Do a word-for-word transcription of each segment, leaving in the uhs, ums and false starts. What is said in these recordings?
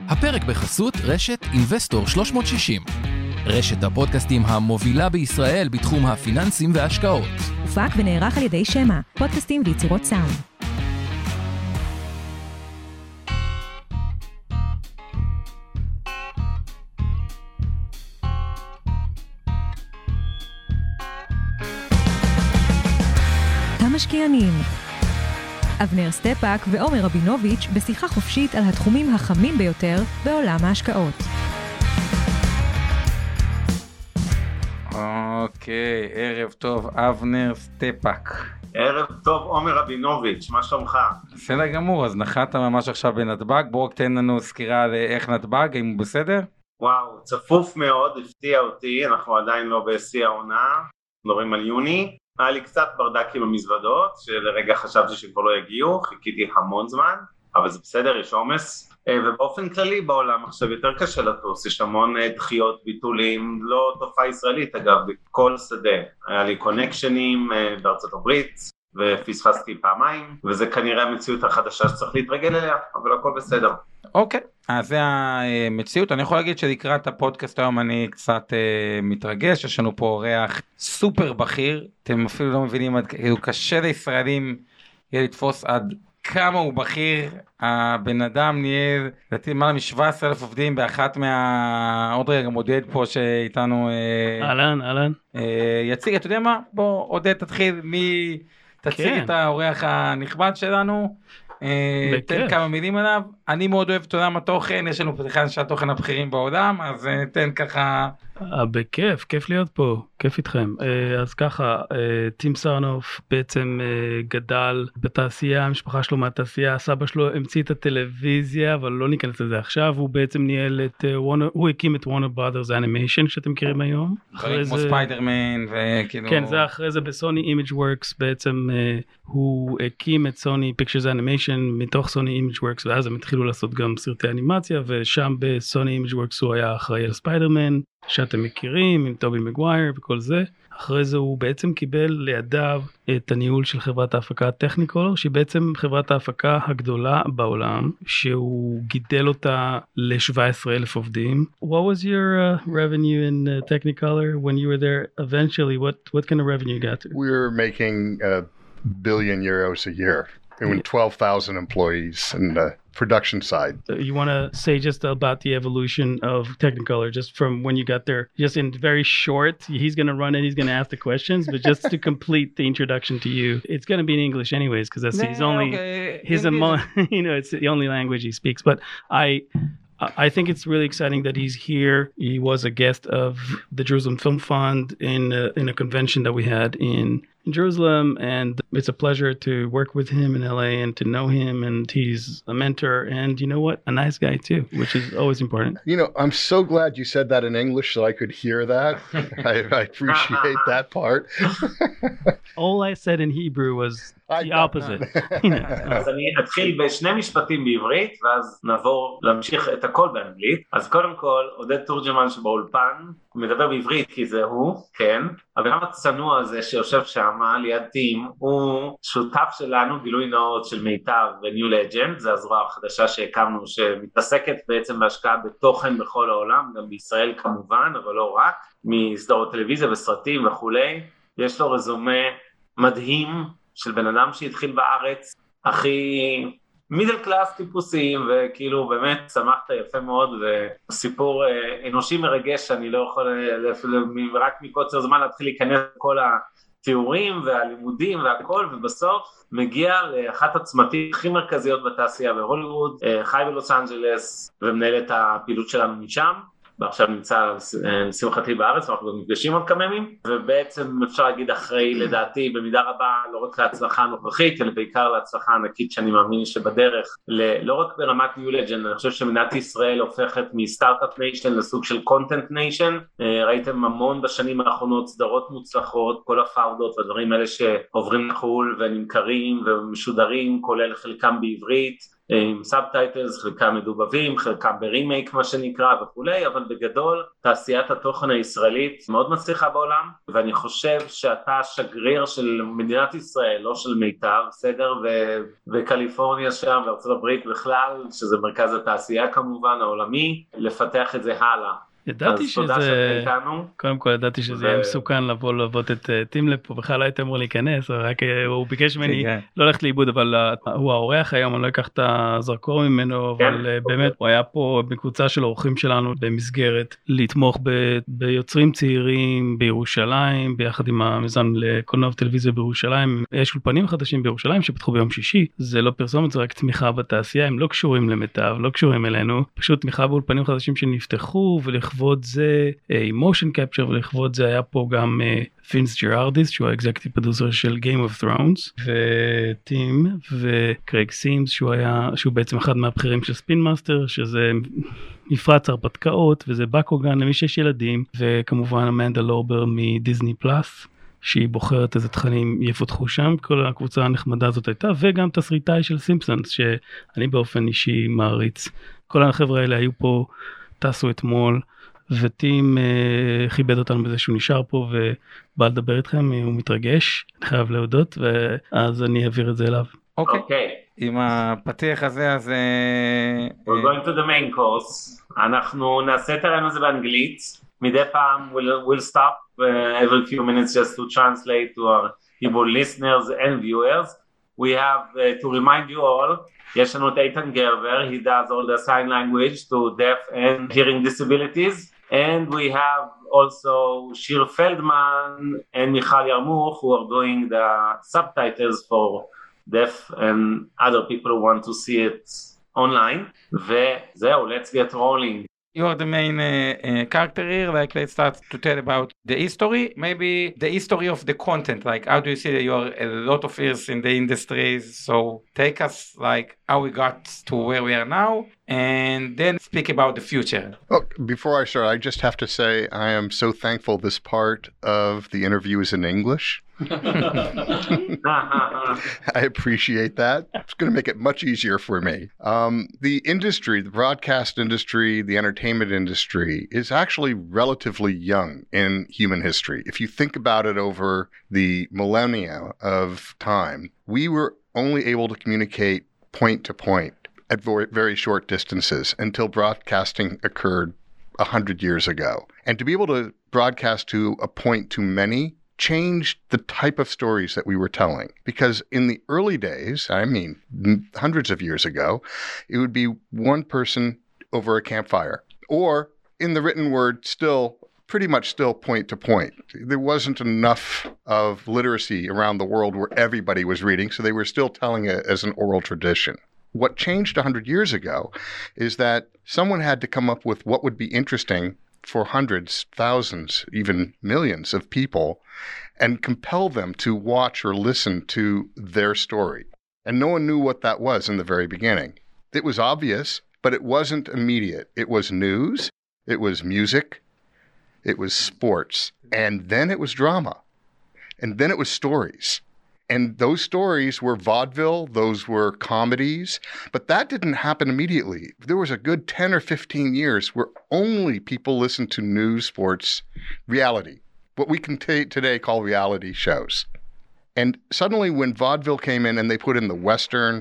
הפרק בחסות רשת Investor שלוש מאות שישים. רשת הפודקאסטים המובילה בישראל בתחום הפיננסים וההשקעות. הופק ונערך על ידי שמה, פודקאסטים ויצירות סאונד. המשקיענים. אבנר סטפאק ועומר רבינוביץ' בשיחה חופשית על התחומים החמים ביותר בעולם ההשקעות. אוקיי, ערב טוב, אבנר סטפאק. ערב טוב, עומר רבינוביץ', מה שלומך? בסדר גמור, אז נחת ממש עכשיו בנתב"ג, בואו תן לנו סקירה על איך נתב"ג, אם הוא בסדר? וואו, צפוף מאוד, הפתיע אותי, אנחנו עדיין לא בשיא העונה, מדברים על יוני. היה לי קצת ברדקים במזוודות, שלרגע חשבתי שכבר לא יגיעו, חיכיתי המון זמן, אבל זה בסדר, יש עומס. ובאופן כללי בעולם עכשיו יותר קשה לטוס, יש המון דחיות, ביטולים, לא תופעה ישראלית אגב, בכל שדה. היה לי קונקשנים בארצות הברית, ופספסתי פעמיים, וזה כנראה המציאות החדשה שצריך להתרגל אליה, אבל הכל בסדר. אוקיי, אז זה המציאות. אני יכול להגיד שלקראת הפודקאסט היום אני קצת אה, מתרגש, יש לנו פה אורח סופר בכיר, אתם אפילו לא מבינים, כאילו קשה לישראלים יהיה לתפוס עד כמה הוא בכיר. הבן אדם נהיה, לדעתי למעלה מ-שבעה עשר אלף עובדים באחת מה... עוד רגע עודד פה שאיתנו... אהלן, אהלן. אה, יציג, אתה יודע מה? בוא עודד תתחיל, מי... תציג כן. את האורח הנכבד שלנו. תן כמה מילים עליו. אני מאוד אוהב את עולם התוכן, יש לנו פה אחד שהתוכן הבכירים בעולם, אז תן ככה. בכיף, כיף להיות פה, כיף איתכם. אז ככה, טים סרנוף בעצם גדל בתעשייה, המשפחה שלו מהתעשייה, סבא שלו המציא את הטלוויזיה, אבל לא ניכנס לזה עכשיו, הוא בעצם ניהל את, הוא הקים את וורנר ברודרס אנימיישן שאתם מכירים היום. אחרי כמו ספיידרמן וכאילו... כן, זה אחרי זה בסוני אימג' וורקס, בעצם הוא הקים את סוני פיקצ'רס אנימיישן מתוך סוני אימג' וורקס, ואז הם התחילו לעשות גם סרטי אנימציה, ושם בסוני אימג' וורקס הוא היה אחראי על ספיידרמן, שאתם מכירים, עם טובי מגווייר וכל זה. אחרי זה הוא בעצם קיבל לידיו את הניהול של חברת ההפקה טכניקולור, שהיא בעצם חברת ההפקה הגדולה בעולם, שהוא גידל אותה ל-שבעה עשר אלף עובדים. What was your uh, revenue in uh, Technicolor when you were there eventually? What, what kind of revenue you got to? We were making a billion euros a year. There were twelve thousand employees in the production side. You want to say just about the evolution of Technicolor, just from when you got there, just in very short, he's going to run it, he's going to ask the questions, but just to complete the introduction to you, it's going to be in English anyways, because that's his only, okay. his, emo- you know, it's the only language he speaks, but I... I think it's really exciting that he's here. He was a guest of the Jerusalem Film Fund in a, in a convention that we had in, in Jerusalem, and it's a pleasure to work with him in L A and to know him, and he's a mentor, and you know what? A nice guy too, which is always important. You know, I'm so glad you said that in English so I could hear that. I, I appreciate that part. All I said in Hebrew was the opposite. אז אני אתחיל בשני משפטים בעברית, ואז נעבור להמשיך את הכל באנגלית. אז קודם כל, עודד תורג'מן שבאולפן, מדבר בעברית כי זה הוא, כן, אבל גם הצנוע הזה שיושב שם ליד טים, הוא שותף שלנו, גילוי נאות של מיטב וניו לג'נד, זה הזרוע החדשה שהקמנו, שמתעסקת בעצם בהשקעה בתוכן בכל העולם, גם בישראל כמובן, אבל לא רק, מסדרות טלוויזיה וסרטים וכולי. יש לו רזומה מדהים של בן אדם שהתחיל בארץ, הכי מידל קלאס טיפוסים, וכאילו באמת צמחת יפה מאוד, וסיפור אנושי מרגש שאני לא יכול רק מקוצר זמן להתחיל להיכנס כל התיאורים והלימודים והכל, ובסוף מגיע לאחת הצמתים הכי מרכזיות בתעשייה בהוליווד, חי בלוס אנג'לס ומנהל את הפעילות שלנו משם, ועכשיו נמצא לשמחתי בארץ, אנחנו גם נפגשים עוד כמה ימים, ובעצם אפשר להגיד אחרי, לדעתי, במידה רבה, לא רק להצלחה הנוכחית, אלא בעיקר להצלחה ענקית שאני מאמין שבדרך, לא רק ברמת ניו לג'נד, אני חושב שמדינת ישראל הופכת מסטארט-אפ ניישן לסוג של קונטנט ניישן, ראיתם המון בשנים האחרונות סדרות מוצלחות, כל הפאודות והדברים האלה שעוברים לחול ונמכרים ומשודרים, כולל חלקם בעברית, עם סאבטייטלס, חלקם מדובבים, חלקם ברימייק מה שנקרא וכולי, אבל בגדול תעשיית התוכן הישראלית מאוד מצליחה בעולם, ואני חושב שאתה שגריר של מדינת ישראל, לא של מיתר, בסדר, ו- וקליפורניה שם, וארצות הברית בכלל, שזה מרכז התעשייה כמובן העולמי, לפתח את זה הלאה. ידעתי שזה, קודם כל ידעתי שזה יהיה מסוכן לבוא לעבוד את טימלאב פה, בכלל לא הייתי אמור להיכנס, רק הוא ביקש ממני לא ללכת לאיבוד, אבל הוא האורח היום, אני לא אקח את הזרקור ממנו, אבל באמת הוא היה פה בקבוצה של האורחים שלנו במסגרת לתמוך ביוצרים צעירים בירושלים, ביחד עם המיזם לקולנוע וטלוויזיה בירושלים. יש אולפנים חדשים בירושלים שפתחו ביום שישי, זה לא פרסומת, זה רק תמיכה בתעשייה, הם לא קשורים למיטב, לא קשורים אלינו, פשוט תמיכה באולפנים חדשים שנפתחו, ולכבוד זה מושן קפצ'ר, ולכבוד זה היה פה גם פינס ג'רארדיס, שהוא האקזקטיב פרודוסר של Game of Thrones, וטים וקרייג סימס, שהוא היה, שהוא בעצם אחד מהבכירים של ספין מאסטר, שזה מפרץ הרפתקאות, וזה בקוגן למי שיש ילדים, וכמובן אמנדה לורבר מדיזני פלאס, שהיא בוחרת איזה תכנים יפותחו שם, כל הקבוצה הנחמדה הזאת הייתה, וגם תסריטאי של סימפסונס, שאני באופן אישי מעריץ. כל החבר'ה האלה היו פה, טסו אתמול, וטים uh, כיבד אותנו בזה שהוא נשאר פה ובא לדבר איתכם, הוא מתרגש, אני חייב להודות, ואז אני אעביר את זה אליו. אוקיי, okay. okay. עם הפתיח הזה, אז... We're going to the main course. אנחנו נעשה את הרעיון הזה באנגלית, מדי פעם we'll, we'll stop uh, every few minutes just to translate to our Hebrew listeners and viewers. We have uh, to remind you all, יש לנו את איתן גרבר, he does all the sign language to deaf and hearing disabilities, and we have also Shir Feldman and Michal Yarmouch who are doing the subtitles for deaf and other people who want to see it online. וזהו, let's get rolling. You are the main uh, uh, character here, like let's start to tell about the history, maybe the history of the content, like how do you see that you are a lot of years in the industry, so take us like how we got to where we are now, and then speak about the future. Oh, before I start, I just have to say I am so thankful this part of the interview is in English. I appreciate that. It's going to make it much easier for me. Um, the industry, the broadcast industry, the entertainment industry is actually relatively young in human history. If you think about it over the millennia of time, we were only able to communicate point to point at very short distances until broadcasting occurred a hundred years ago. And to be able to broadcast to a point to many changed the type of stories that we were telling. Because in the early days, I mean, hundreds of years ago, it would be one person over a campfire. Or in the written word, still, pretty much still point to point. There wasn't enough of literacy around the world where everybody was reading, so they were still telling it as an oral tradition. What changed a hundred years ago is that someone had to come up with what would be interesting for hundreds, thousands, even millions of people, and compel them to watch or listen to their story. And no one knew what that was in the very beginning. It was obvious, but it wasn't immediate. It was news, it was music, it was sports, and then it was drama, and then it was stories. And those stories were vaudeville, those were comedies, but that didn't happen immediately. There was a good ten or fifteen years where only people listened to news, sports, reality, what we can t- today call reality shows. And suddenly when vaudeville came in and they put in the Western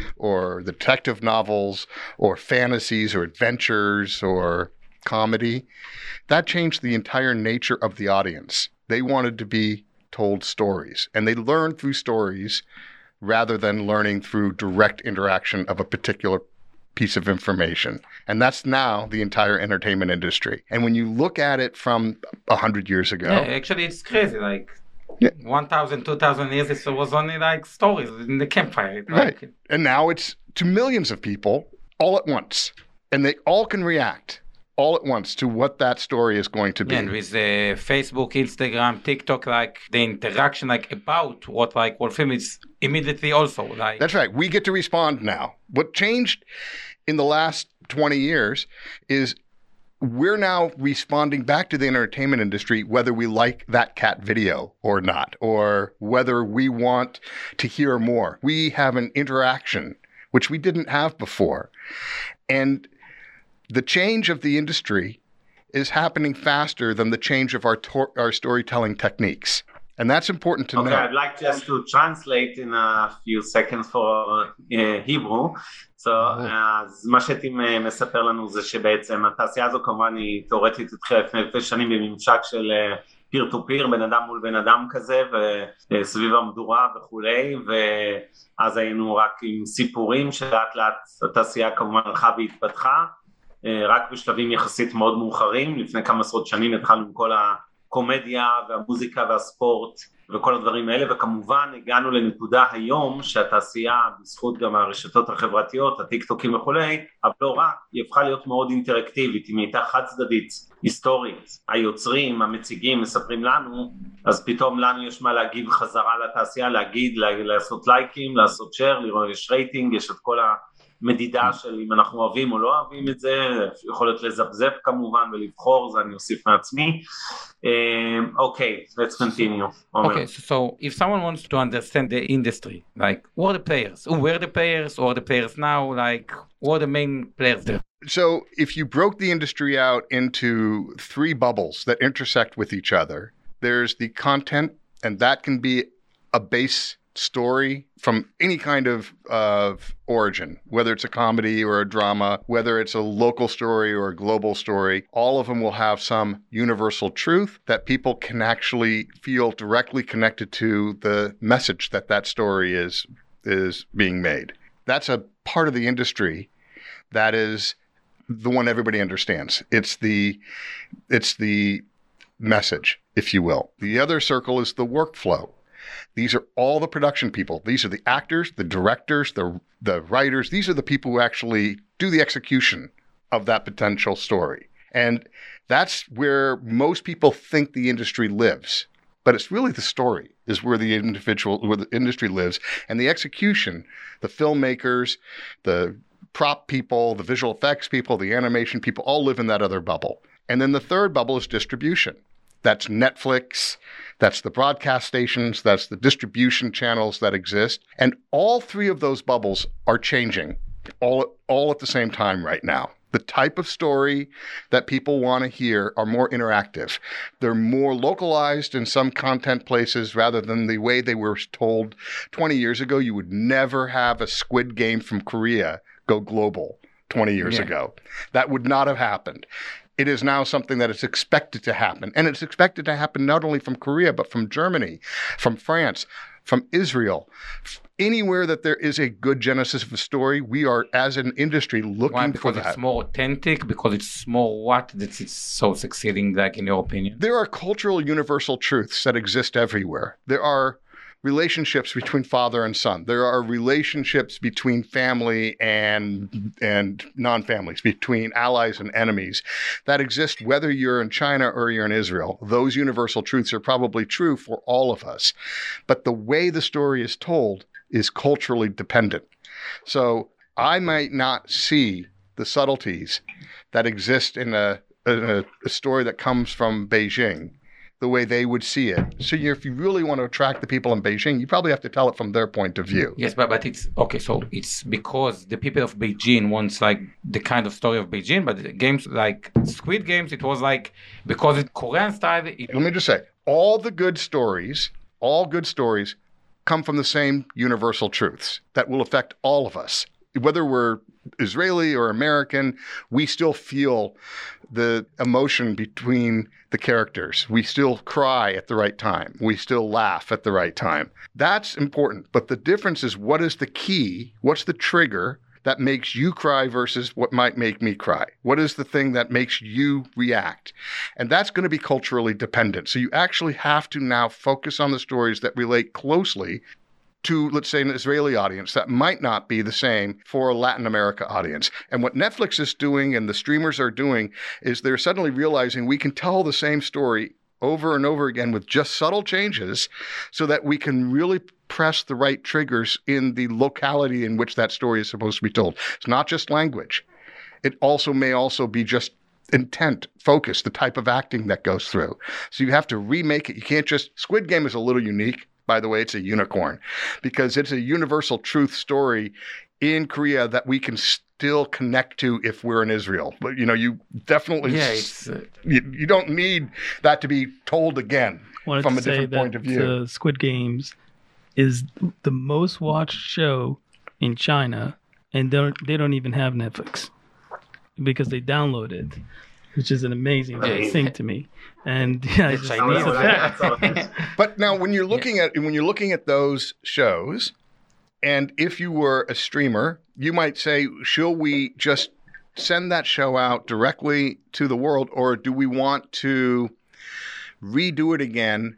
or the detective novels or fantasies or adventures or comedy, that changed the entire nature of the audience. They wanted to be told stories, and they learned through stories rather than learning through direct interaction of a particular piece of information. And that's now the entire entertainment industry. And when you look at it from a hundred years ago, yeah, actually it's crazy. Like yeah. one thousand, two thousand years, it was only like stories in the campfire. Right. Like, and now it's to millions of people all at once, and they all can react all at once to what that story is going to be. And with uh, Facebook, Instagram, TikTok, like the interaction, like about what like what film is immediately also like. That's right. We get to respond now. What changed in the last twenty years is we're now responding back to the entertainment industry, whether we like that cat video or not, or whether we want to hear more. We have an interaction which we didn't have before. And the change of the industry is happening faster than the change of our tor- our storytelling techniques. And that's important to okay, know. Okay, I'd like just to translate in a few seconds for uh, Hebrew. So, אז מה שטים מספר לנו זה שבעצם התעשייה הזו כמובן היא תיאורטית התחילה לפני אלפי שנים בממשק של פיר טו פיר, בן אדם מול בן אדם כזה, וסביב המדורה וכולי, ואז היינו רק עם סיפורים שלאט לאט התעשייה כמובן הלכה והתפתחה, רק בשלבים יחסית מאוד מאוחרים. לפני כמה עשרות שנים התחלנו עם כל הקומדיה והמוזיקה והספורט וכל הדברים האלה, וכמובן הגענו לנקודה היום שהתעשייה בזכות גם הרשתות החברתיות, הטיק טוקים וכולי, אבל לא רק, היא הפכה להיות מאוד אינטראקטיבית, היא הייתה חד צדדית, היסטורית, היוצרים, המציגים מספרים לנו, אז פתאום לנו יש מה להגיב חזרה לתעשייה, להגיד, לעשות לייקים, לעשות שייר, לראות יש רייטינג, יש את כל המדידה של אם אנחנו אוהבים או לא אוהבים את זה, יכול להיות לזפזפ כמובן ולבחור, זה אני אוסיף מעצמי. Um, okay, let's continue. Okay, so, so if someone wants to understand the industry, like who are the players? Who were the players? Who are the players now? Like who are the main players there? So if you broke the industry out into three bubbles that intersect with each other, there's the content, and that can be a base story from any kind of of origin, whether it's a comedy or a drama, whether it's a local story or a global story. All of them will have some universal truth that people can actually feel directly connected to the message that that story is is being made. That's a part of the industry that is the one everybody understands. It's the it's the message, if you will. The other circle is the workflow. These are all the production people. These are the actors, the directors, the the writers. These are the people who actually do the execution of that potential story. And that's where most people think the industry lives. But it's really the story is where the individual, where the industry lives. And the execution, the filmmakers, the prop people, the visual effects people, the animation people, all live in that other bubble. And then the third bubble is distribution. That's Netflix, that's the broadcast stations, that's the distribution channels that exist. And all three of those bubbles are changing all, all at the same time right now. The type of story that people want to hear are more interactive. They're more localized in some content places rather than the way they were told twenty years ago. You would never have a Squid Game from Korea go global twenty years yeah. ago. That would not have happened. It is now something that is expected to happen. And it's expected to happen not only from Korea, but from Germany, from France, from Israel. Anywhere that there is a good genesis of a story, we are, as an industry, looking Why? for Because that. It's more authentic, because it's more what that it's so succeeding, like in your opinion? There are cultural universal truths that exist everywhere. There are relationships between father and son. There are relationships between family and and non-families, between allies and enemies that exist whether you're in China or you're in Israel. Those universal truths are probably true for all of us. But the way the story is told is culturally dependent. So I might not see the subtleties that exist in a, in a, a story that comes from Beijing the way they would see it. So you, if you really want to attract the people in Beijing, you probably have to tell it from their point of view. Yes, but, but it's, okay, so it's because the people of Beijing wants like the kind of story of Beijing, but the games like Squid Games, it was like, because it's Korean style. It... Let me just say, all the good stories, all good stories come from the same universal truths that will affect all of us. Whether we're Israeli or American, we still feel the emotion between the characters. We still cry at the right time. We still laugh at the right time. That's important. But the difference is, what is the key? What's the trigger that makes you cry versus what might make me cry? What is the thing that makes you react? And that's going to be culturally dependent. So you actually have to now focus on the stories that relate closely to, let's say, an Israeli audience that might not be the same for a Latin America audience. And what Netflix is doing and the streamers are doing is they're suddenly realizing we can tell the same story over and over again with just subtle changes so that we can really press the right triggers in the locality in which that story is supposed to be told. It's not just language. It also may also be just intent, focus, the type of acting that goes through. So you have to remake it. You can't just, Squid Game is a little unique. By the way, it's a unicorn because it's a universal truth story in Korea that we can still connect to if we're in Israel. But, you know, you definitely, Yeah, it's, uh, you, you don't need that to be told again Wanted from to a say different that, point of view. uh, Squid Games is the most watched show in China, and they don't, they don't even have Netflix because they download it, which is an amazing Yeah. thing to me. And yeah, it's, just, Chinese. it's a fact. But now when you're looking at when you're looking at those shows, and if you were a streamer, you might say, shall we just send that show out directly to the world, or do we want to redo it again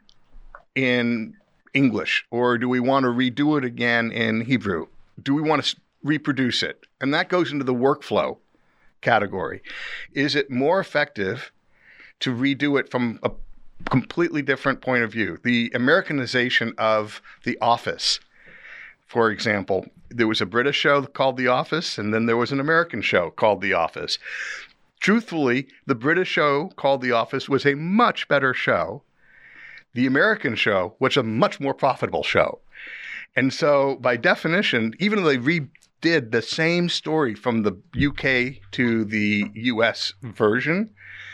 in English, or do we want to redo it again in Hebrew? Do we want to reproduce it? And that goes into the workflow category. Is it more effective to redo it from a completely different point of view? The Americanization of The Office, for example, there was a British show called The Office, and then there was an American show called The Office. Truthfully, the British show called The Office was a much better show. The American show was a much more profitable show. And so, by definition, even though they redid the same story from the U K to the U S version,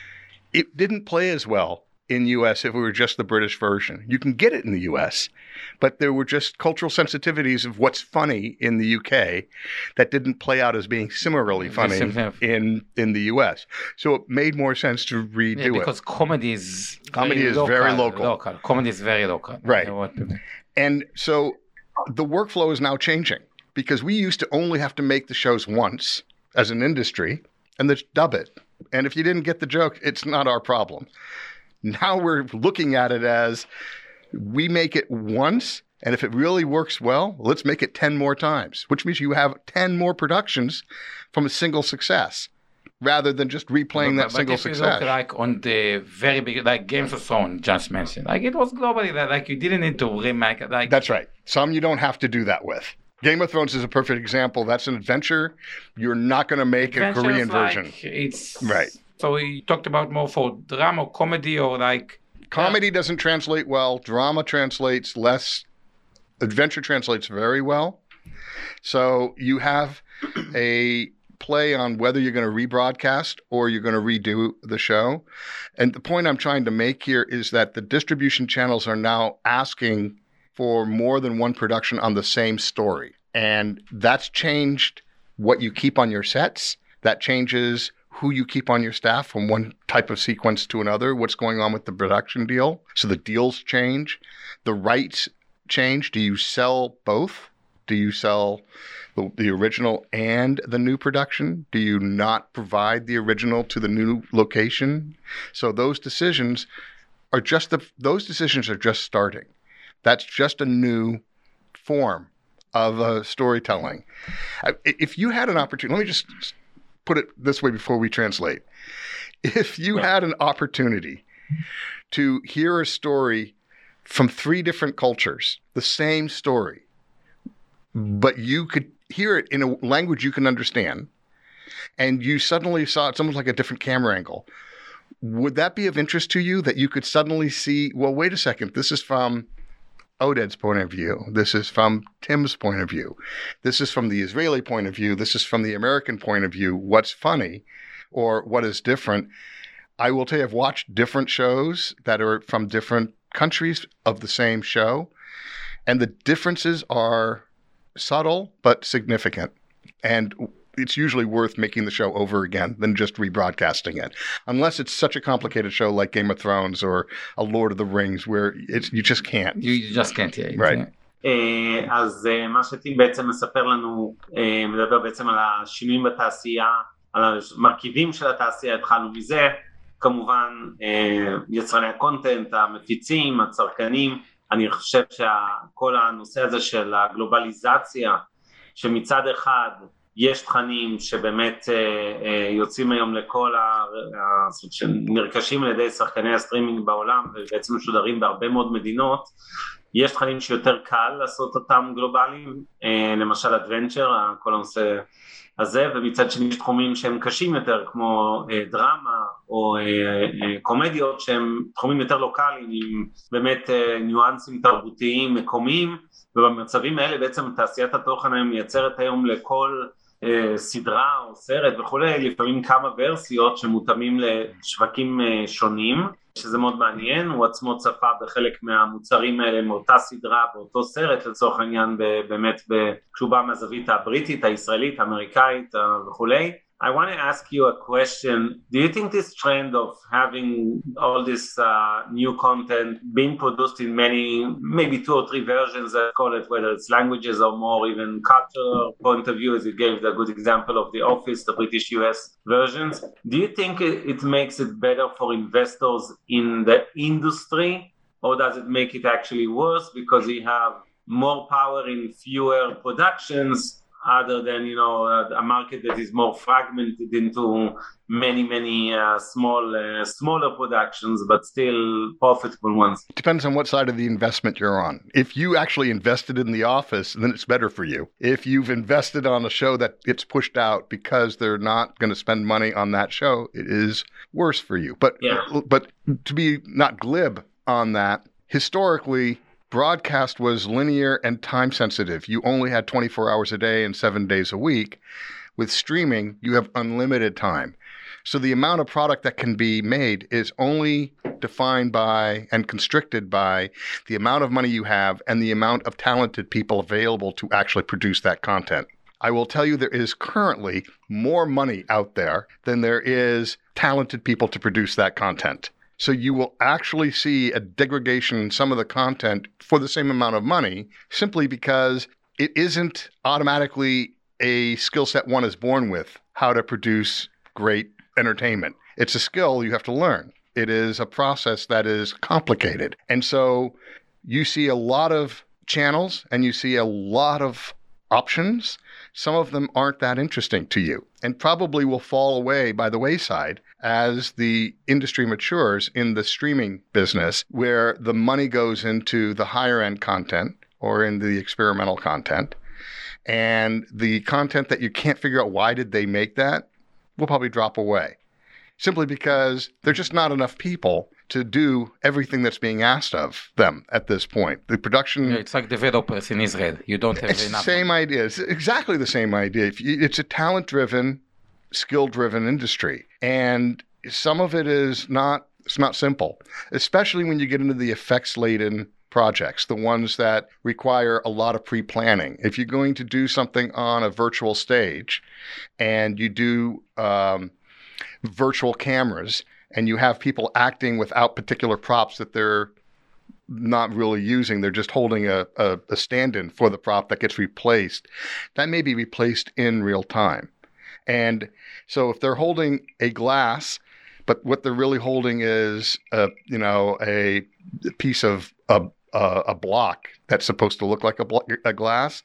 it didn't play as well in U S if it were just the British version. You can get it in the U S, but there were just cultural sensitivities of what's funny in the U K that didn't play out as being similarly funny in, in the U S. So it made more sense to redo yeah, because it. comedy is Comedy very is local, very local. local. Comedy is very local. Right. You know what- And so the workflow is now changing because we used to only have to make the shows once as an industry and then dub it. And if you didn't get the joke, it's not our problem. Now we're looking at it as we make it once, and if it really works well, let's make it ten more times, which means you have ten more productions from a single success rather than just replaying that but, single but if success. you look like on the very big, like Games of Thrones just mentioned, like it was globally that like you didn't need to remake it. Like That's right. Some you don't have to do that with. Game of Thrones is a perfect example. That's an adventure. You're not going to make a adventures, Korean like, version. It's Right. So we talked about more for drama, comedy, or like Comedy doesn't translate well. Drama translates less. Adventure translates very well. So you have a play on whether you're going to rebroadcast or you're going to redo the show. And the point I'm trying to make here is that the distribution channels are now asking for more than one production on the same story. And that's changed what you keep on your sets. That changes who you keep on your staff from one type of sequence to another, what's going on with the production deal. So the deals change. The rights change. Do you sell both? Do you sell the, the original and the new production? Do you not provide the original to the new location? So those decisions are just the, those decisions are just starting. That's just a new form of uh, storytelling. If you had an opportunity, let me just put it this way before we translate. If you had an opportunity to hear a story from three different cultures, the same story, but you could hear it in a language you can understand, and you suddenly saw it's almost like a different camera angle, would that be of interest to you, that you could suddenly see, well, wait a second, this is from Oded's point of view. This is from Tim's point of view. This is from the Israeli point of view. This is from the American point of view. What's funny or what is different? I will tell you, I've watched different shows that are from different countries of the same show, and the differences are subtle but significant. And it's usually worth making the show over again than just rebroadcasting it, unless it's such a complicated show like Game of Thrones or a Lord of the Rings, where it's you just can't. You, you just can't hear it. Right. Yeah. אז מה שטים בעצם מספר לנו, מדבר בעצם על השינויים בתעשייה, על המרכיבים של התעשייה, התחלנו מזה, כמובן יצרני הקונטנט, המפיצים, הצרכנים. אני חושב שכל הנושא הזה של הגלובליזציה, שמצד אחד יש תכנים שבאמת יוצאים היום לכל שנרכשים על ידי שחקני הסטרימינג בעולם ובעצם משודרים בהרבה מאוד מדינות. יש תכנים שיותר קל לעשות אותם גלובליים, למשל אדוונצ'ר, כל הנושא הזה, ומצד שני יש תחומים שהם קשים יותר כמו דרמה או קומדיות שהם תחומים יותר לוקליים עם באמת ניואנסים תרבותיים מקומיים, ובמצבים האלה בעצם תעשיית התוכן היום מייצרת היום לכל אה, סדרה או סרט וכולי, לפעמים כמה ורסיות שמותאמים לשווקים אה, שונים, שזה מאוד מעניין. הוא עצמו צפה בחלק מהמוצרים האלה מאותה סדרה באותו סרט לצורך העניין באמת כשהוא בא מהזווית הבריטית, הישראלית, האמריקאית וכולי. I want to ask you a question. Do you think this trend of having all this uh, new content being produced in many, maybe two or three versions, I call it, whether it's languages or more even cultural point of view, as you gave the good example of The Office, the British U S versions, do you think it makes it better for investors in the industry, or does it make it actually worse because you have more power in fewer productions other than, you know, uh, a market that is more fragmented into many, many uh, small, uh, smaller productions, but still profitable ones? It depends on what side of the investment you're on. If you actually invested in The Office, then it's better for you. If you've invested on a show that gets pushed out because they're not going to spend money on that show, it is worse for you. But, yeah. but to be not glib on that, historically, broadcast was linear and time sensitive. You only had twenty-four hours a day and seven days a week. With streaming, you have unlimited time. So the amount of product that can be made is only defined by and constricted by the amount of money you have and the amount of talented people available to actually produce that content. I will tell you there is currently more money out there than there is talented people to produce that content. So you will actually see a degradation in some of the content for the same amount of money, simply because it isn't automatically a skill set one is born with, how to produce great entertainment. It's a skill you have to learn. It is a process that is complicated. And so you see a lot of channels and you see a lot of options. Some of them aren't that interesting to you and probably will fall away by the wayside as the industry matures in the streaming business, where the money goes into the higher end content or in the experimental content. And the content that you can't figure out why did they make that will probably drop away, simply because there's just not enough people to do everything that's being asked of them at this point. The production... Yeah, it's like developers in Israel. You don't have it's enough. It's the same idea. It's exactly the same idea. If you, it's a talent-driven, skill-driven industry. And some of it is not, it's not simple, especially when you get into the effects-laden projects, the ones that require a lot of pre-planning. If you're going to do something on a virtual stage and you do um, virtual cameras, and you have people acting without particular props that they're not really using, they're just holding a, a, a stand-in for the prop that gets replaced, that may be replaced in real time. And so if they're holding a glass, but what they're really holding is a, you know, a piece of a, a, a block that's supposed to look like a, blo- a glass,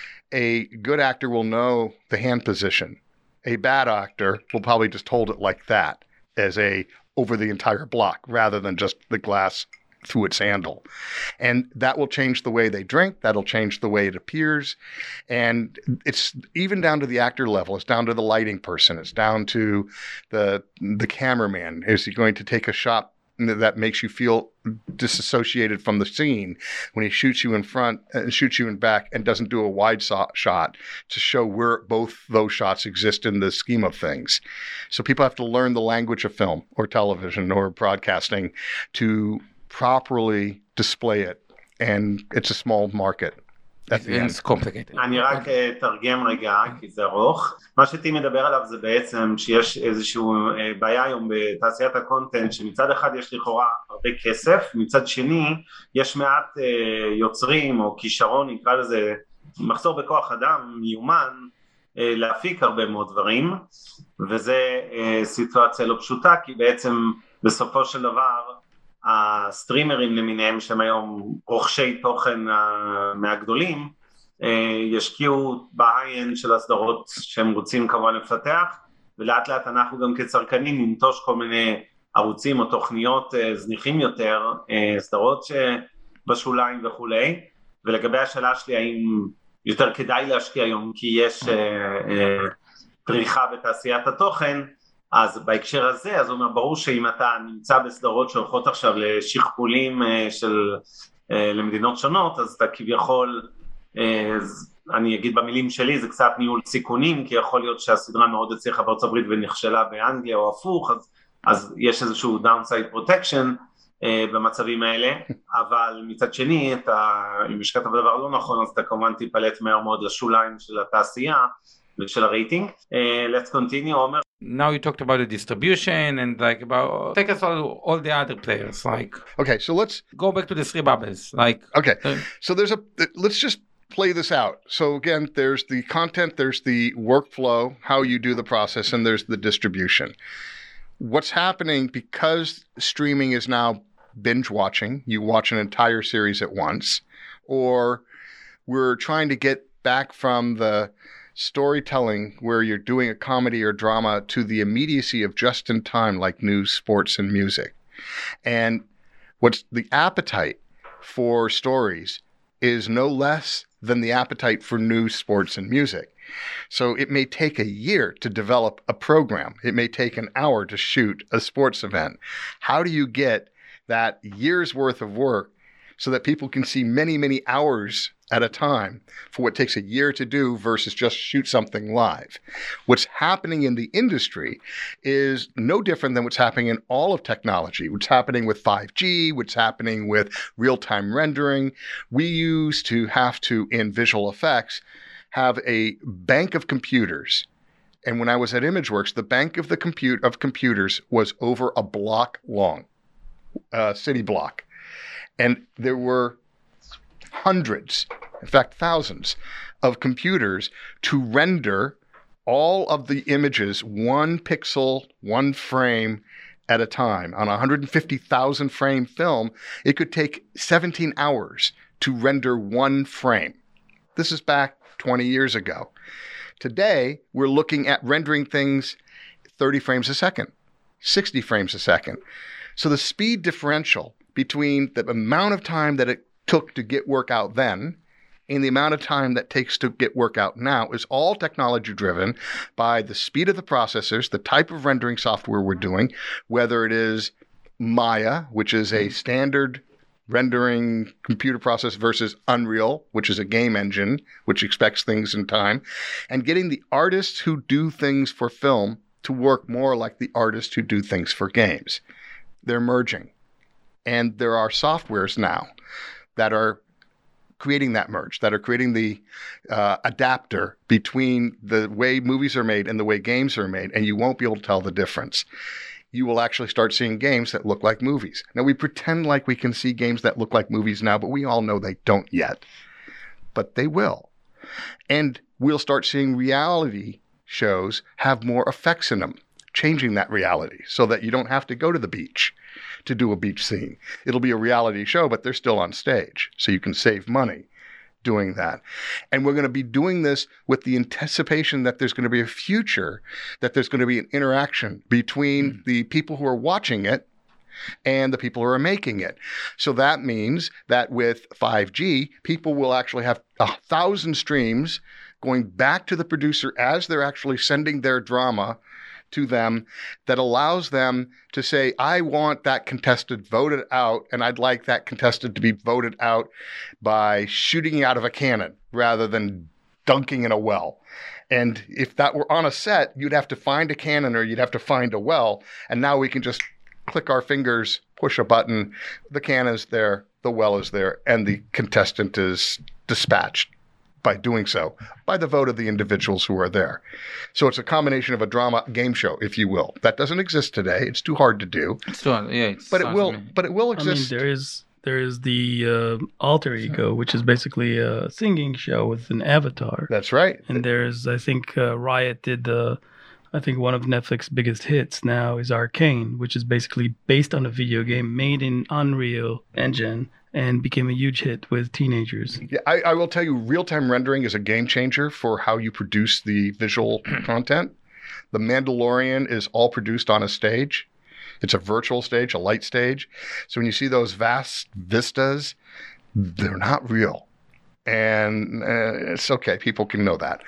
a good actor will know the hand position. A bad actor will probably just hold it like that, as a over the entire block rather than just the glass through its handle. And that will change the way they drink. That'll change the way it appears. And it's even down to the actor level. It's down to the lighting person. It's down to the the cameraman. Is he going to take a shot that makes you feel disassociated from the scene when he shoots you in front and shoots you in back and doesn't do a wide so- shot to show where both those shots exist in the scheme of things. So people have to learn the language of film or television or broadcasting to properly display it. And it's a small market. It's complicated. אני רק תרגם רגע, כי זה ארוך. מה שטי מדבר עליו זה בעצם שיש איזושהי בעיה היום בתעשיית הקונטנט, שמצד אחד יש לכאורה הרבה כסף, מצד שני יש מעט יוצרים או כישרון, נקרא לזה מחסור בכוח אדם, מיומן, להפיק הרבה מאוד דברים, וזה סיטואציה לא פשוטה, כי בעצם בסופו של דבר הסטרימרים למיניהם שהם היום רוכשי תוכן מהגדולים ישקיעו בהיי-אנד של הסדרות שהם רוצים כמובן לפתח, ולאט לאט אנחנו גם כצרכנים ננטוש כל מיני ערוצים או תוכניות זניחים יותר, סדרות שבשוליים וכולי. ולגבי השאלה שלי, האם יותר כדאי להשקיע היום כי יש פריחה בתעשיית התוכן, אז בהקשר הזה, אז הוא אומר, ברור שאם אתה נמצא בסדרות שהולכות עכשיו לשכפולים של, למדינות שונות, אז אתה כביכול אז אני אגיד במילים שלי, זה קצת ניהול סיכונים, כי יכול להיות שהסדרה מאוד הצליחה בארצות הברית ונכשלה באנגליה או הפוך, אז, אז יש איזשהו downside protection אה, במצבים האלה, אבל מצד שני, אתה, אם השקעת בדבר לא נכון, אז אתה כמובן תיפלט מהר מאוד לשוליים של התעשייה ושל הרייטינג. אה, let's continue, עומר. Now you talked about the distribution and like about take us all, all the other players like Okay, so let's go back to the three bubbles like okay. uh, So there's a let's just play this out. So again, there's the content, there's the workflow, how you do the process, and there's the distribution. What's happening because streaming is now binge watching, you watch an entire series at once, or we're trying to get back from the storytelling where you're doing a comedy or drama to the immediacy of just in time, like news, sports, and music. And what's the appetite for stories is no less than the appetite for news, sports, and music. So it may take a year to develop a program. It may take an hour to shoot a sports event. How do you get that year's worth of work so that people can see many, many hours at a time for what takes a year to do versus just shoot something live? What's happening in the industry is no different than what's happening in all of technology, what's happening with five G, what's happening with real-time rendering. We used to have to, in visual effects, have a bank of computers. And when I was at ImageWorks, the bank of the compute of computers was over a block long, a city block. And there were hundreds, in fact, thousands of computers to render all of the images one pixel, one frame at a time. On a one hundred fifty thousand frame film, it could take seventeen hours to render one frame. This is back twenty years ago. Today, we're looking at rendering things thirty frames a second, sixty frames a second. So the speed differential between the amount of time that it took to get work out then and the amount of time that takes to get work out now is all technology driven by the speed of the processors, the type of rendering software we're doing, whether it is Maya, which is a standard rendering computer process, versus Unreal, which is a game engine, which expects things in time, and getting the artists who do things for film to work more like the artists who do things for games. They're merging. And there are softwares now that are creating that merge, that are creating the uh, adapter between the way movies are made and the way games are made, and you won't be able to tell the difference. You will actually start seeing games that look like movies. Now, we pretend like we can see games that look like movies now, but we all know they don't yet. But they will. And we'll start seeing reality shows have more effects in them, changing that reality so that you don't have to go to the beach to do a beach scene. It'll be a reality show, but they're still on stage, so you can save money doing that. And we're going to be doing this with the anticipation that there's going to be a future, that there's going to be an interaction between mm. the people who are watching it and the people who are making it. So that means that with five G, people will actually have a thousand streams going back to the producer as they're actually sending their drama to them, that allows them to say, I want that contestant voted out, and I'd like that contestant to be voted out by shooting out of a cannon rather than dunking in a well. And if that were on a set, you'd have to find a cannon or you'd have to find a well. And now we can just click our fingers, push a button, the cannon is there, the well is there, and the contestant is dispatched by doing so, by the vote of the individuals who are there. So it's a combination of a drama game show, if you will. That doesn't exist today. It's too hard to do. It's too hard, yeah. It's but it will. But it will exist. I mean, there is there is the uh, Alter Ego, which is basically a singing show with an avatar. That's right. And there's, I think, uh, Riot did the. I think one of Netflix's biggest hits now is Arcane, which is basically based on a video game made in Unreal Engine and became a huge hit with teenagers. Yeah, I, I will tell you, real-time rendering is a game changer for how you produce the visual content. The Mandalorian is all produced on a stage. It's a virtual stage, a light stage. So when you see those vast vistas, they're not real. And uh, it's okay. People can know that.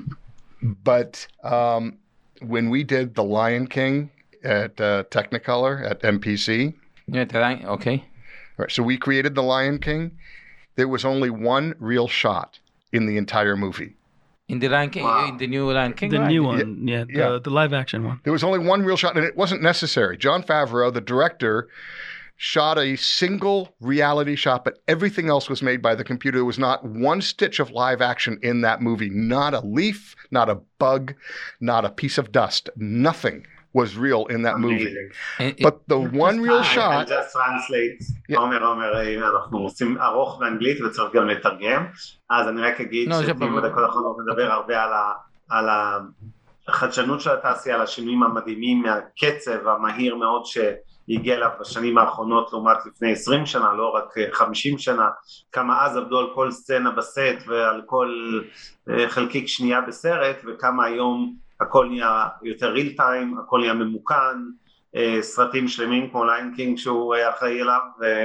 But um, when we did The Lion King at uh, Technicolor, at M P C. Yeah, okay. Right, so we created The Lion King. There was only one real shot in the entire movie. In the Lion King, Wow. in the new Lion King, The right? new one, yeah, Yeah. The, the live action one. There was only one real shot, and it wasn't necessary. John Favreau, the director, shot a single reality shot, but everything else was made by the computer. There was not one stitch of live action in that movie. Not a leaf, not a bug, not a piece of dust. Nothing was real in that movie. Amazing. And- But the one real I- shot, I'll just translate. Yeah. עומר, עומר, אנחנו עושים ארוך באנגלית וצריך גם לתרגם. אז אני רק אגיד No, זה שפעמים ברור. בדקות האחרונות נדבר הרבה על ה- על החדשנות של התעשייה, על השינויים המדהימים מהקצב המהיר מאוד שהגיע אליו בשנים האחרונות לעומת לפני עשרים שנה, לא רק חמישים שנה, כמה אז עבדו על כל סצנה בסט ועל כל אה, חלקיק שנייה בסרט, וכמה היום הכל נהיה יותר ריל טיים, הכל נהיה ממוכן, אה, סרטים שלמים כמו ליין קינג שהוא אה, אחראי אליו,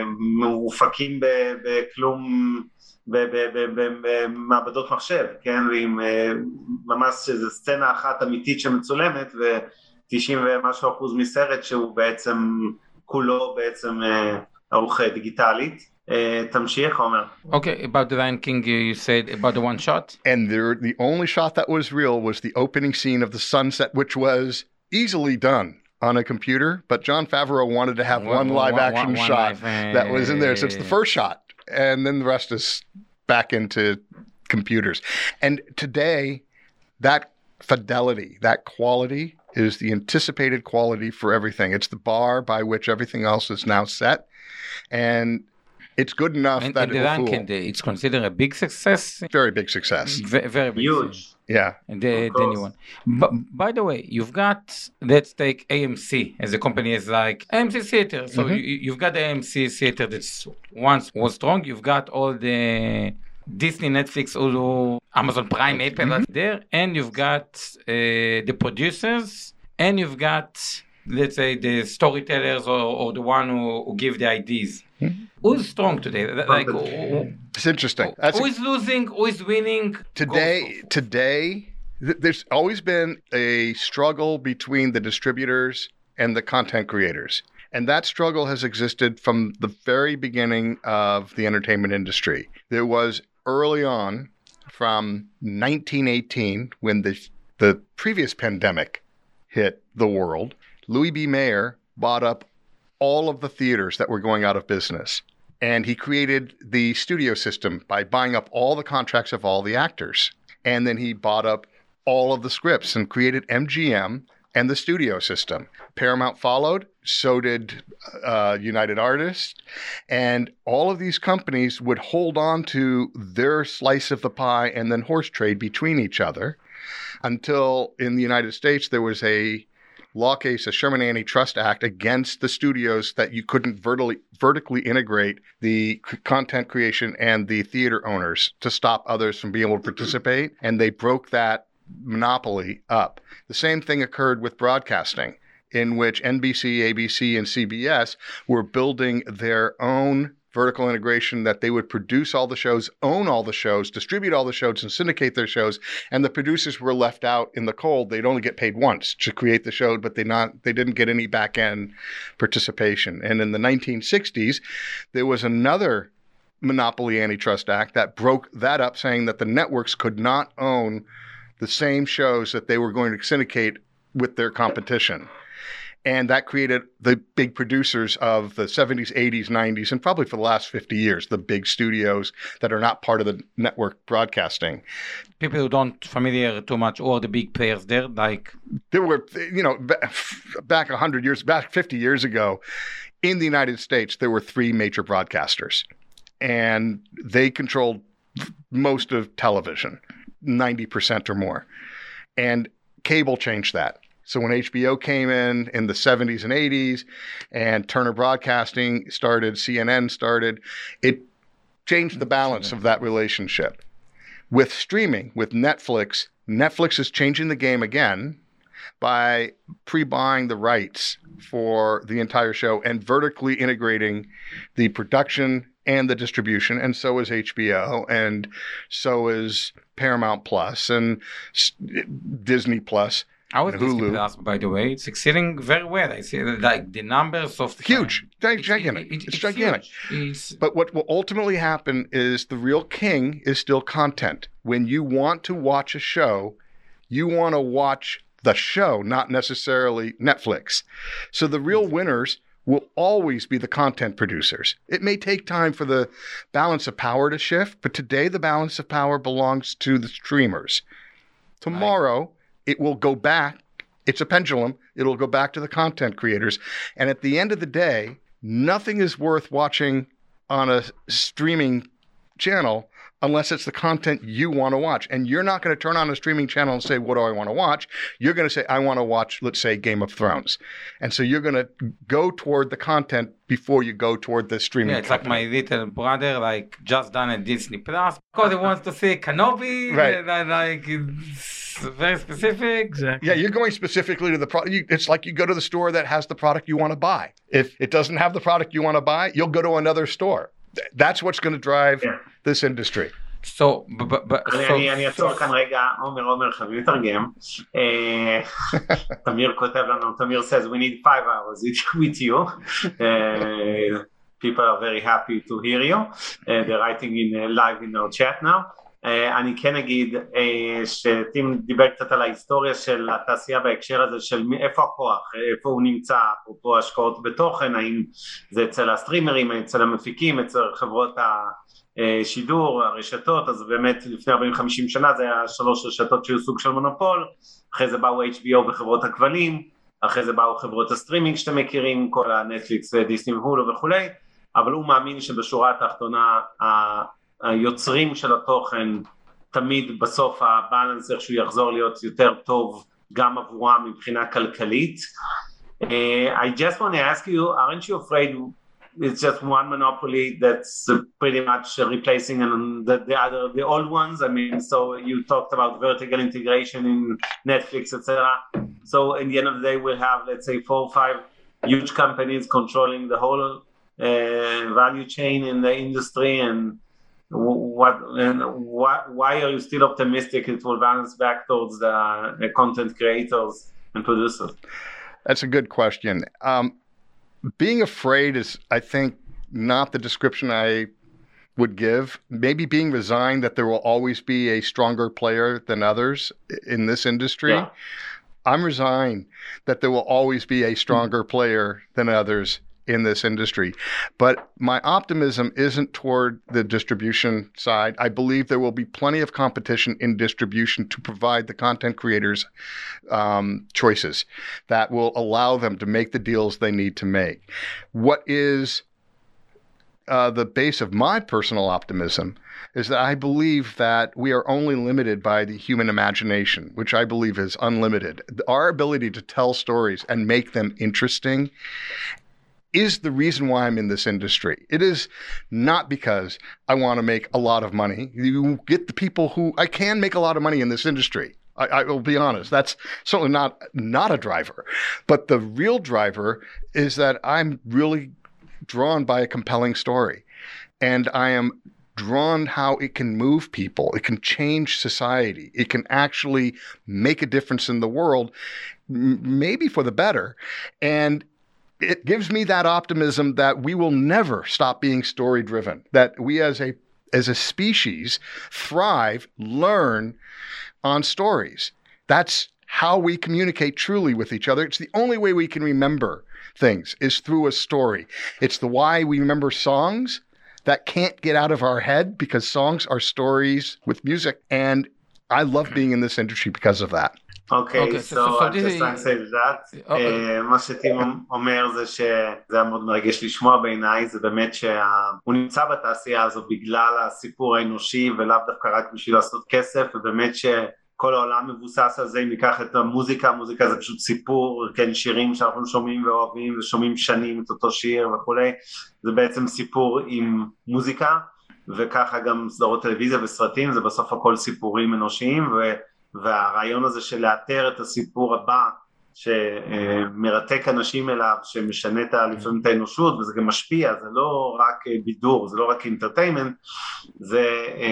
ומופקים ב- בכלום, ב- ב- ב- ב- במעבדות מחשב, כן, ועם אה, ממש איזו סצנה אחת אמיתית שמצולמת, ו-תשעים ומשהו אחוז מסרט שהוא בעצם, כולו בעצם אה, ערוך דיגיטלית. אה, תמשיך, עומר. Okay, about the Lion King, you you said about the one shot. and there, the only shot that was real was the opening scene of the sunset, which was easily done on a computer. But John Favreau wanted to have one, One- live one- action one shot live, that was in there. So it's the uh, first shot, and then the rest is back into computers. And today, that fidelity, that quality is the anticipated quality for everything. It's the bar by which everything else is now set. And it's good enough And, that and it the will Lion fool. King, it's considered a big success. Very big success. Very, very big. Huge. Yeah. And the, Of the course. new one. But by the way, you've got, let's take A M C as a company is like A M C Theater. So Mhm. you, you've got the A M C Theater that's once was strong. You've got all the Disney, Netflix, Hulu, Amazon Prime, Apple Mhm. that's there. And you've got uh, the producers and you've got, let's say, the storytellers or, or the one who, who give the ideas. Mhm. Who's strong today? Like, who, It's interesting. That's who is losing? Who is winning? Today, Go- today, th- there's always been a struggle between the distributors and the content creators. And that struggle has existed from the very beginning of the entertainment industry. There was early on, from nineteen eighteen, when the, the previous pandemic hit the world, Louis B. Mayer bought up all of the theaters that were going out of business. And he created the studio system by buying up all the contracts of all the actors. And then he bought up all of the scripts and created M G M and the studio system. Paramount followed, so did uh, United Artists. And all of these companies would hold on to their slice of the pie and then horse trade between each other until in the United States there was a law case, a Sherman Antitrust Act against the studios that you couldn't vertically, vertically integrate the c- content creation and the theater owners to stop others from being able to participate. And they broke that monopoly up. The same thing occurred with broadcasting, in which N B C, A B C, and C B S were building their own vertical integration that they would produce all the shows, own all the shows, distribute all the shows, and syndicate their shows. And the producers were left out in the cold. They'd only get paid once to create the show, but they not they didn't get any back end participation. And in the nineteen sixties, there was another Monopoly Antitrust Act that broke that up, saying that the networks could not own the same shows that they were going to syndicate with their competition. And that created the big producers of the seventies, eighties, nineties, and probably for the last fifty years, the big studios that are not part of the network broadcasting. People who don't familiar too much, or the big players there, like There were, you know, ba- back one hundred years, back fifty years ago, in the United States, there were three major broadcasters. And they controlled most of television, ninety percent or more. And cable changed that. So when H B O came in in the seventies and eighties and Turner Broadcasting started, C N N started, it changed the balance of that relationship. With streaming, with Netflix, Netflix is changing the game again by pre-buying the rights for the entire show and vertically integrating the production and the distribution, and so is H B O, and so is Paramount Plus and S- Disney Plus. How is and Disney Hulu. Plus, by the way? It's succeeding very well. I see like the numbers of Huge, It's- gigantic. it- it- It's gigantic. huge. It's But what will ultimately happen is the real king is still content. When you want to watch a show, you want to watch the show, not necessarily Netflix. So the real winners will always be the content producers. It may take time for the balance of power to shift, but today the balance of power belongs to the streamers. Tomorrow, it will go back. It's a pendulum. It'll go back to the content creators. And at the end of the day, nothing is worth watching on a streaming channel unless it's the content you want to watch. And you're not going to turn on a streaming channel and say, what do I want to watch? You're going to say, I want to watch, let's say, Game of Thrones. And so you're going to go toward the content before you go toward the streaming. Yeah, it's like my little brother, like just done at Disney Plus because he wants to see Kenobi. Right. And I, like it's very specific. Exactly. Yeah, you're going specifically to the product. It's like you go to the store that has the product you want to buy. If it doesn't have the product you want to buy, you'll go to another store. That's what's going to drive Yeah. this industry. So, but, but, אני- so, אני אני אעצור כאן רגע, עומר עומר חייבים לתרגם. אה, תמיר כותב לנו, תמיר says we need five hours with- with you. אה, people are very happy to hear you. Uh, they're writing in uh, live in our chat now. Uh, אני כן אגיד uh, שטים דיבר קצת על ההיסטוריה של התעשייה בהקשר הזה של מי- איפה הכוח, איפה הוא נמצא, אפרופו השקעות בתוכן, האם זה אצל הסטרימרים, אצל המפיקים, אצל חברות השידור, הרשתות. אז באמת לפני ארבעים חמישים שנה זה היה שלוש רשתות שהיו סוג של מונופול, אחרי זה באו אייץ' בי או וחברות הכבלים, אחרי זה באו חברות הסטרימינג שאתם מכירים, כל הנטפליקס ודיסני והולו וכולי, אבל הוא מאמין שבשורה התחתונה היוצרים של התוכן תמיד בסוף הבאלנס איכשהו יחזור להיות יותר טוב גם עבורם מבחינה כלכלית. uh, I just want to ask you, aren't you afraid it's just one monopoly that's uh, pretty much uh, replacing and the, the other, the old ones? I mean, so you talked about vertical integration in Netflix, et cetera. So in the end of the day, we'll have, let's say, four or five huge companies controlling the whole uh, value chain in the industry. And what and why, why are you still optimistic it will balance back towards the uh, content creators and producers? That's a good question. Um, being afraid is, I think, not the description I would give. Maybe being resigned that there will always be a stronger player than others in this industry. Yeah. I'm resigned that there will always be a stronger player than others in this industry. But my optimism isn't toward the distribution side. I believe there will be plenty of competition in distribution to provide the content creators um, choices that will allow them to make the deals they need to make. What is uh, the base of my personal optimism is that I believe that we are only limited by the human imagination, which I believe is unlimited. Our ability to tell stories and make them interesting is the reason why I'm in this industry. It is not because I want to make a lot of money. You get the people who, I can make a lot of money in this industry. I, I will be honest. That's certainly not, not a driver. But the real driver is that I'm really drawn by a compelling story. And I am drawn how it can move people. It can change society. It can actually make a difference in the world, m- maybe for the better. And it gives me that optimism that we will never stop being story driven, that we as a as a species thrive, learn on stories. That's how we communicate truly with each other. It's the only way we can remember things is through a story. It's the why we remember songs that can't get out of our head, because songs are stories with music. And I love being in this industry because of that. אוקיי, אוקיי, so so- so I this just is- like to say that. אוקיי. אה, מה שטים אומר זה שזה היה מאוד מרגש לשמוע בעיניי, זה באמת שהוא נמצא בתעשייה הזו בגלל הסיפור האנושי ולאו דווקא רק בשביל לעשות כסף, ובאמת שכל העולם מבוסס על זה. אם ניקח את המוזיקה, המוזיקה זה פשוט סיפור, כן, שירים שאנחנו שומעים ואוהבים ושומעים שנים את אותו שיר וכולי, זה בעצם סיפור עם מוזיקה, וככה גם סדרות טלוויזיה וסרטים, זה בסוף הכל סיפורים אנושיים, ו... והרעיון הזה של לאתר את הסיפור הבא שמרתק אנשים אליו, שמשנה את לפעמים את האנושות, וזה גם משפיע, זה לא רק בידור, זה לא רק אינטרטיימנט, זה,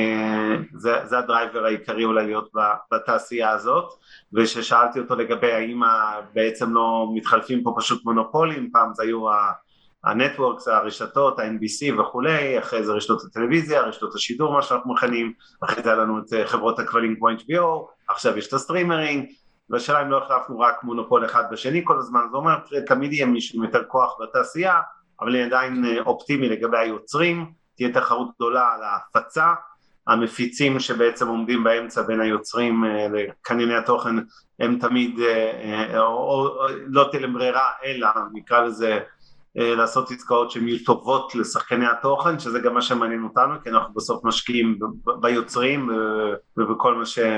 זה, זה הדרייבר העיקרי אולי להיות בתעשייה הזאת, וששאלתי אותו לגבי האם בעצם לא מתחלפים פה פשוט מונופולים, פעם זה היו הנטוורקס, הרשתות, ה-אן בי סי וכולי, אחרי זה רשתות הטלוויזיה, רשתות השידור, מה שאנחנו מכנים, אחרי זה היה לנו את חברות הכבלים כמו אייץ' בי או, עכשיו יש את הסטרימרינג, והשאלה אם לא החלפנו רק מונופול אחד בשני כל הזמן, זה אומר תמיד יהיה מישהו עם יותר כוח בתעשייה, אבל אני עדיין אופטימי לגבי היוצרים, תהיה תחרות גדולה על ההפצה, המפיצים שבעצם עומדים באמצע בין היוצרים לקנייני התוכן, הם תמיד, או, או, או לא תהיה להם ברירה, אלא נקרא לזה, לעשות עסקאות שהן יהיו טובות לשחקני התוכן, שזה גם מה שמעניין אותנו, כי אנחנו בסוף משקיעים ביוצרים ובכל מה ש...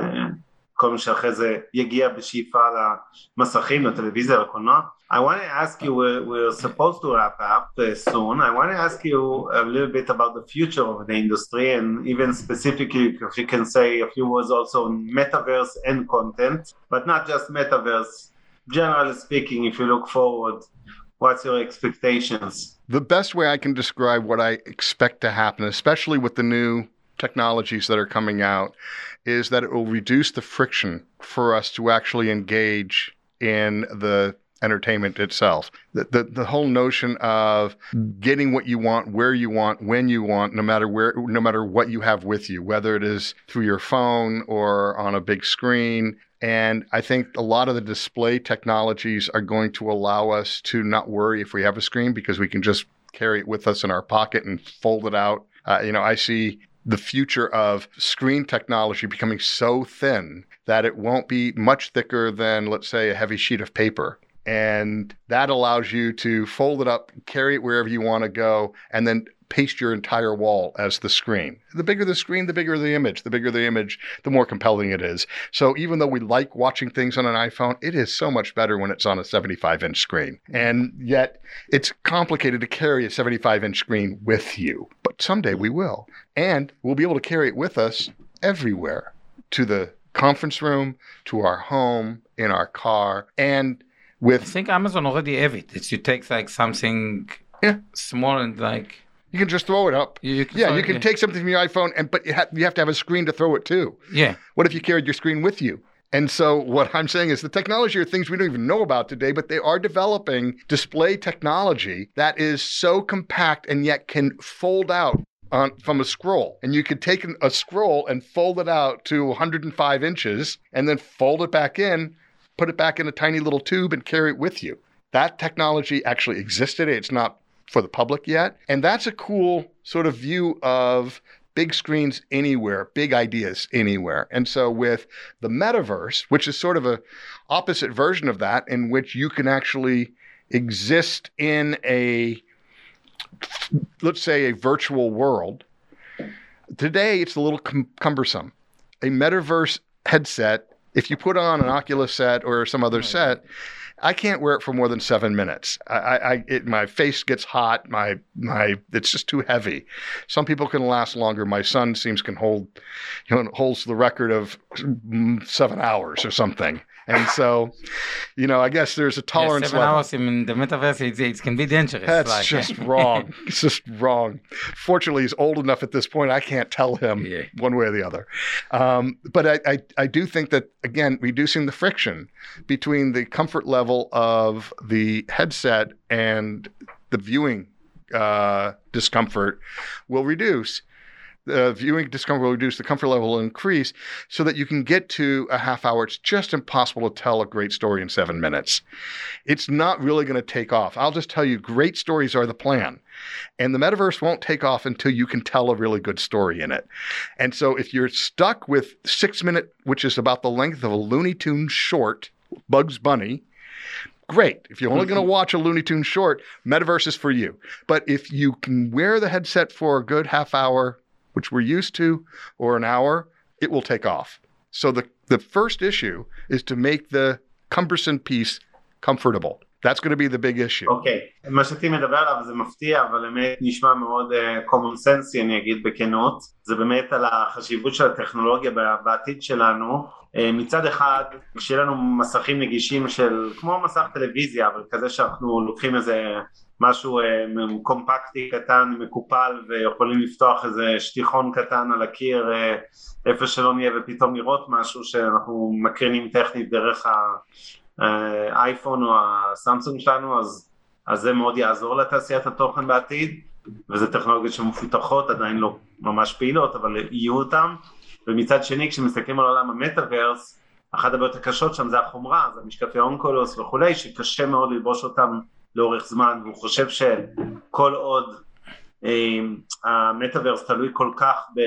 כל מה שאחרי זה יגיע בשאיפה למסכים, לטלוויזיה, לקולנוע. I want to ask you, we're, we're supposed to wrap up uh, soon. I want to ask you a little bit about the future of the industry, and even specifically, if you can say a few words also on metaverse and content, but not just metaverse. Generally speaking, if you look forward, what's your expectations? The best way I can describe what I expect to happen, especially with the new technologies that are coming out, is that it will reduce the friction for us to actually engage in the entertainment itself. The, the the whole notion of getting what you want, where you want, when you want, no matter where, no matter what you have with you, whether it is through your phone or on a big screen. And I think a lot of the display technologies are going to allow us to not worry if we have a screen, because we can just carry it with us in our pocket and fold it out. Uh, you know, I see the future of screen technology becoming so thin that it won't be much thicker than, let's say, a heavy sheet of paper. And that allows you to fold it up, carry it wherever you want to go, and then paste your entire wall as the screen. The bigger the screen, the bigger the image. The bigger the image, the more compelling it is. So even though we like watching things on an iPhone, it is so much better when it's on a seventy-five inch screen. And yet it's complicated to carry a seventy-five inch screen with you. But someday we will. And we'll be able to carry it with us everywhere, to the conference room, to our home, in our car, and with... I think Amazon already have it. It's you take like something yeah. small and like... You can just throw it up. You, you can yeah, throw you it, can yeah. take something from your iPhone, and but you, ha- you have to have a screen to throw it to. Yeah. What if you carried your screen with you? And so what I'm saying is the technology are things we don't even know about today, but they are developing display technology that is so compact and yet can fold out on from a scroll. And you could take an, a scroll and fold it out to one hundred five inches and then fold it back in, put it back in a tiny little tube and carry it with you. That technology actually existed. It's not for the public yet. And that's a cool sort of view of big screens anywhere, big ideas anywhere. And so with the metaverse, which is sort of a opposite version of that, in which you can actually exist in a, let's say, a virtual world. Today, it's a little cum- cumbersome. A metaverse headset, if you put on an Oculus set or some other set, I can't wear it for more than seven minutes. I, I, it, my face gets hot. My, my, it's just too heavy. Some people can last longer. My son seems can hold, you know, holds the record of seven hours or something. And so, you know, I guess there's a tolerance yeah, seven level. hours in the metaverse, it, it can be dangerous. That's like, just wrong. It's just wrong. Fortunately, he's old enough at this point, I can't tell him yeah. one way or the other. Um, but I, I, I do think that, again, reducing the friction between the comfort level of the headset and the viewing uh, discomfort will reduce. The viewing discomfort will reduce, the comfort level will increase so that you can get to a half hour. It's just impossible to tell a great story in seven minutes. It's not really going to take off. I'll just tell you, great stories are the plan. And the metaverse won't take off until you can tell a really good story in it. And so if you're stuck with six minute, which is about the length of a Looney Tunes short, Bugs Bunny, great. If you're only going to watch a Looney Tunes short, metaverse is for you. But if you can wear the headset for a good half hour, which we're used to, or an hour, it will take off. So the, the first issue is to make the cumbersome piece comfortable. That's going to be the big issue. אוקיי, מה שאתי מדבר עליו זה מפתיע, אבל באמת נשמע מאוד uh, common sense, אני אגיד בכנות. זה באמת על החשיבות של הטכנולוגיה בעתיד שלנו. Uh, מצד אחד, כשיהיה לנו מסכים נגישים של, כמו מסך טלוויזיה, אבל כזה שאנחנו לוקחים איזה משהו uh, קומפקטי קטן, מקופל, ויכולים לפתוח איזה שטיחון קטן על הקיר, uh, איפה שלא נהיה, ופתאום לראות משהו שאנחנו מקרינים טכנית דרך ה... אייפון או הסמסונג שלנו, אז, אז זה מאוד יעזור לתעשיית התוכן בעתיד, וזה טכנולוגיות שמפותחות, עדיין לא ממש פעילות, אבל יהיו אותם. ומצד שני, כשמסתכלים על עולם המטאברס, אחת הבעיות הקשות שם זה החומרה, זה משקפי אונקולוס וכולי, שקשה מאוד ללבוש אותם לאורך זמן, והוא חושב שכל עוד אה, המטאברס תלוי כל כך ב...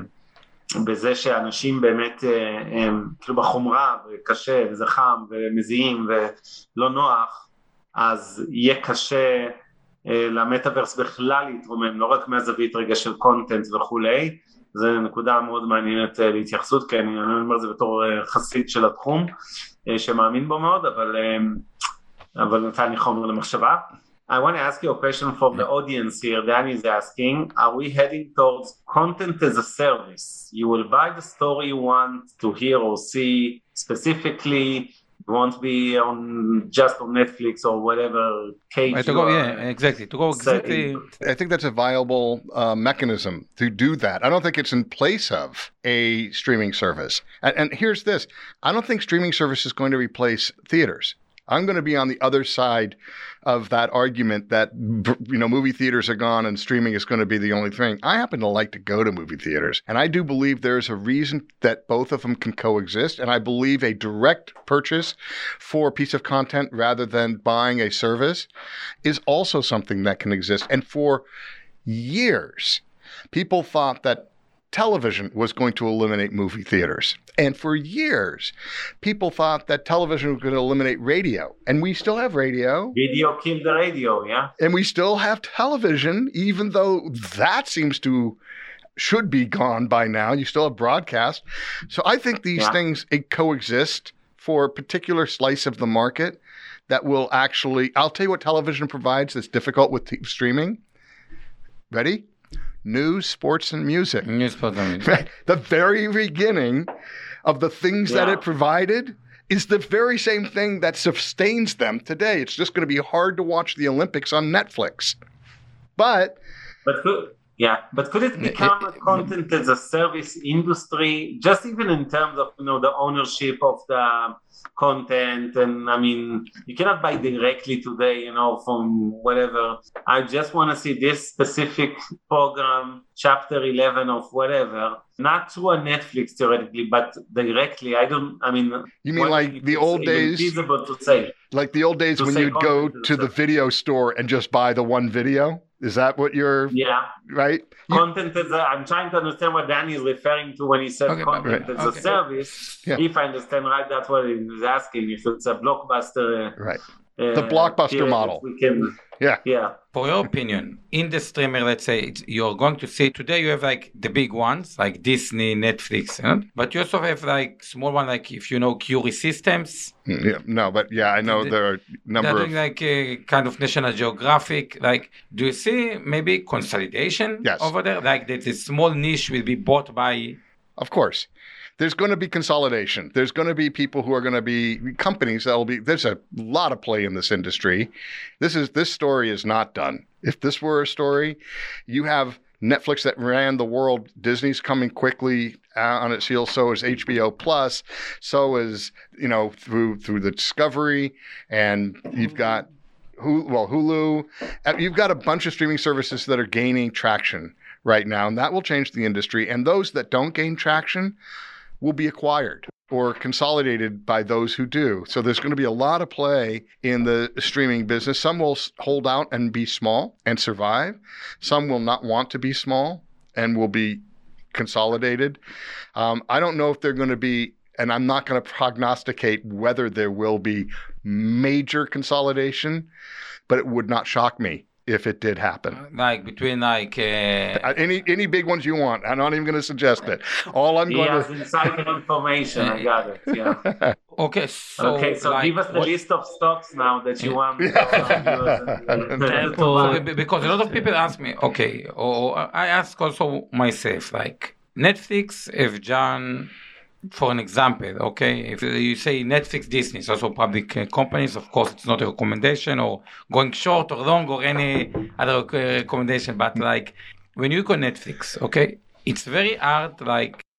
בזה שאנשים באמת הם, כאילו בחומרה וקשה וזה חם ומזיעים ולא נוח, אז יהיה קשה למטאברס בכלל להתרומם, לא רק מהזווית רגע של קונטנט וכולי. זה נקודה מאוד מעניינת להתייחסות, כי אני אומר זה בתור חסיד של התחום שמאמין בו מאוד, אבל, אבל נתן לי חומר למחשבה. I want to ask you a question from the audience here. Danny is asking, are we heading towards content as a service? You will buy the story you want to hear or see specifically. You won't be on just on Netflix or whatever cage. Right, to go, yeah, exactly. To go exactly. I think that's a viable uh, mechanism to do that. I don't think it's in place of a streaming service. And, and here's this. I don't think streaming service is going to replace theaters. I'm going to be on the other side of that argument that, you know, movie theaters are gone and streaming is going to be the only thing. I happen to like to go to movie theaters, and I do believe there's a reason that both of them can coexist, and I believe a direct purchase for a piece of content rather than buying a service is also something that can exist. And for years, people thought that television was going to eliminate movie theaters. And for years, people thought that television was going to eliminate radio. And we still have radio. Video killed the radio, yeah. And we still have television, even though that seems to, should be gone by now. You still have broadcast. So I think these yeah. things coexist for a particular slice of the market that will actually, I'll tell you what television provides that's difficult with t- streaming. Ready? News, sports, and music. News, sports, and music. The very beginning of the things yeah. that it provided is the very same thing that sustains them today. It's just going to be hard to watch the Olympics on Netflix. But... But could, yeah, but could it become a content as a service industry, just even in terms of, you know, the ownership of the content? And I mean, you cannot buy directly today, you know, from whatever. I just want to see this specific program, chapter eleven of whatever, not through a Netflix theoretically, but directly. I don't, I mean, you mean like the old days, feasible to say. Like the old days when you'd go to the video store and just buy the one video? Is that what you're, yeah, right? You, content as a, I'm trying to understand what Danny is referring to when he said okay, content right. as okay. a service. Yeah. If I understand right, that's what he was asking. If it's a blockbuster, right? Uh, the blockbuster model. We can, yeah, yeah. For your opinion, in the streamer, let's say it's, you're going to see today, you have like the big ones like Disney, Netflix, you know? But you also have like small one, like if you know Curie Systems. Yeah, no, but yeah, I know the, there are a number they're of doing like a kind of National Geographic. Like, do you see maybe consolidation yes. over there? Like that this small niche will be bought by. Of course. There's going to be consolidation. There's going to be people who are going to be companies that will be, there's a lot of play in this industry. This is, this story is not done. If this were a story, you have Netflix that ran the world. Disney's coming quickly on its heels. So is H B O Plus. So is, you know, through, through the Discovery, and you've got Hulu, well, Hulu. You've got a bunch of streaming services that are gaining traction right now, and that will change the industry. And those that don't gain traction will be acquired or consolidated by those who do. So there's going to be a lot of play in the streaming business. Some will hold out and be small and survive. Some will not want to be small and will be consolidated. Um, I don't know if they're going to be, and I'm not going to prognosticate whether there will be major consolidation, but it would not shock me if it did happen. Like between like uh, Uh, Any any big ones you want. I'm not even going to suggest it. All I'm He going has to. insider information. I got it. Yeah. okay, so Okay, so like, give us the what- list of stocks now that you want. Apple. Be- because a lot of people ask me, okay, or I ask also myself, like Netflix, if John, for an example, okay, if you say Netflix, Disney, it's also public uh, companies, of course, it's not a recommendation or going short or long or any other uh, recommendation, but like when you go Netflix, okay, it's very hard, like